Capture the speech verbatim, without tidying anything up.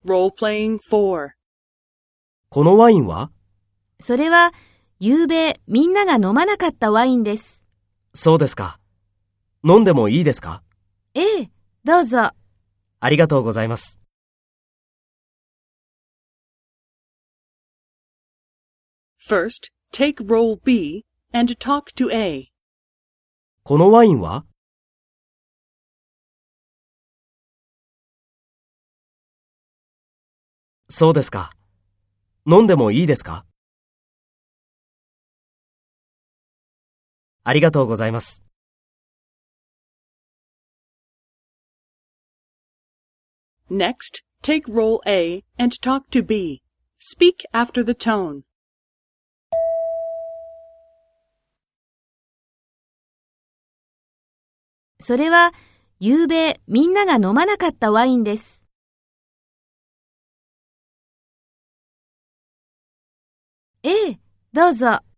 Role-playing four. このワインは？ それは、ゆうべみんなが飲まなかったワインです。 そうですか。飲んでもいいですか？ ええ、どうぞ。 ありがとうございます。 First, take role B and talk to A. このワインは？そうですか。飲んでもいいですか？ありがとうございます。 Next, take role A and talk to B. Speak after the tone. それは、ゆうべみんなが飲まなかったワインです。ええ、どうぞ。